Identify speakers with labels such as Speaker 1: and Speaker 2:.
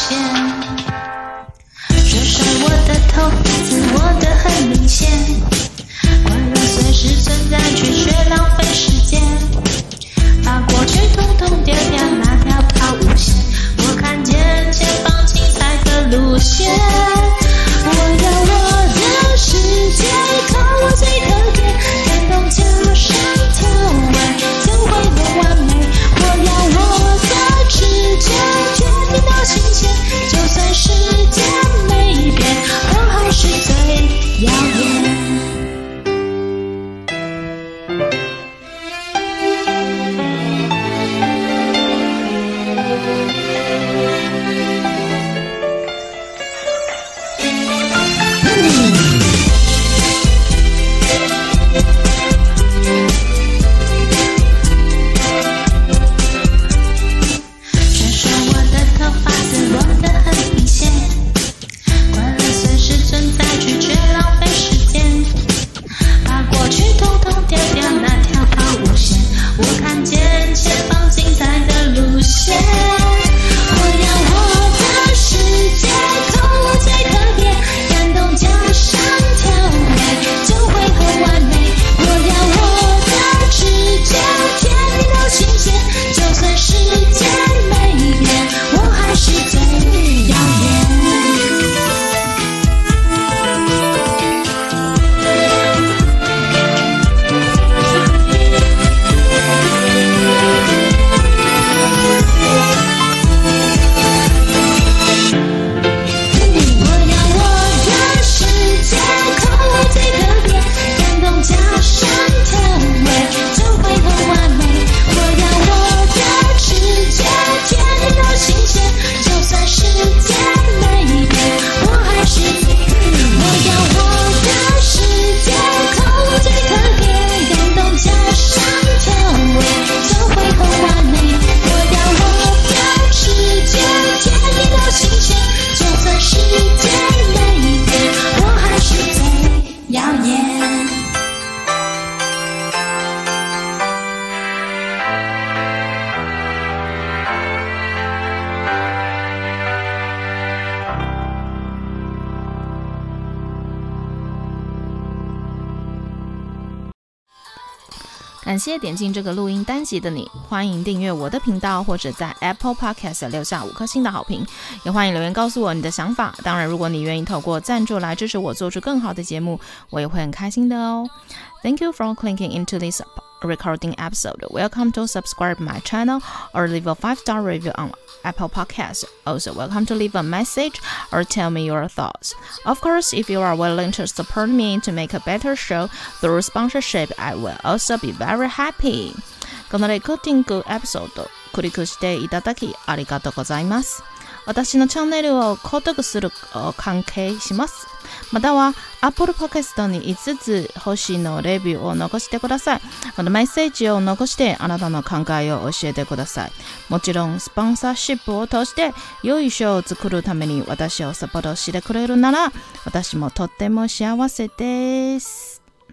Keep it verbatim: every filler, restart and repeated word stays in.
Speaker 1: 現。甩甩我的頭髮，自我的很明顯，快樂隨時存在，卻卻浪費時間。把過去統統丟掉，那條拋物線，我看見前方精彩的路線。我要我的世界靠我最特別，感動加上調味，就會很完美。我要我的直覺決定到新鮮，就算世界沒變，我還是最耀眼。
Speaker 2: 感謝點進這個錄音單集的你，歡迎訂閱我的頻道，或者在 Apple Podcast 留下五顆星的好評，也歡迎留言告訴我你的想法。當然，如果你願意透過贊助來支持我做出更好的節目，我也會很開心的哦。Thank you for clicking into this recording episode. Welcome to subscribe my channel or leave a five-star review on Apple Podcasts. Also, welcome to leave a message or tell me your thoughts. Of course, if you are willing to support me to make a better show through sponsorship, I will also be very happy. このレコーディングエピソード、クリックしていただきありがとうございます。私のチャンネルを購読する関係します。または Apple Podcast にいつつ星のレビューを残してください。またメッセージを残してあなたの考えを教えてください。もちろんスポンサーシップを通して良いショーを作るために私をサポートしてくれるなら私もとっても幸せです。